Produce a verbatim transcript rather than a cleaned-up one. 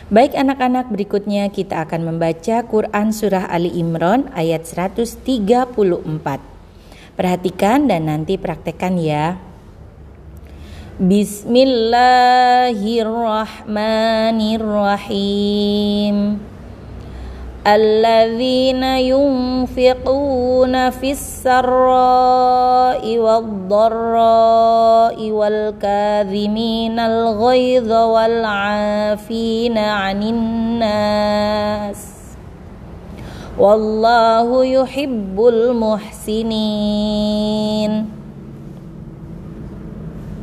Baik anak-anak, berikutnya kita akan membaca Quran Surah Ali Imran ayat seratus tiga puluh empat. Perhatikan dan nanti praktekkan ya. Bismillahirrahmanirrahim. Alladzina yunfiquna fis sarra'i wad-dharra'i wal kadhiminal ghaidha wal 'afina 'anil nas wallahu yuhibbul muhsinin.